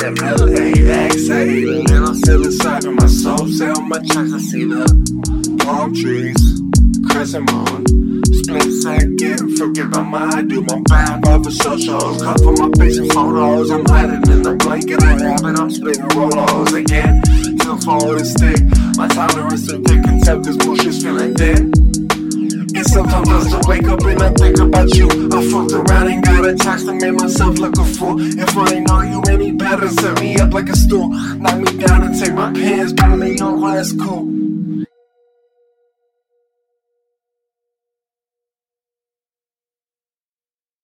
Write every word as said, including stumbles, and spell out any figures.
L A X A. And I'm still inside of my soul. Say on my tracks, I see the palm trees, crescent moon, split second. Forget about my I do my bad for socials. Cover my face in photos. I'm hiding in the blanket I have it. I'm spitting rolos again. Still forward and stick. My tolerance to thick contempt. This bullshit's feeling dead. And sometimes I still wake up and I think about you. I fucked around and got attached and made myself look a fool. If I ain't know you any better, set me up like a stool. Knock me down and take my pants, buy me on, well, that's cool.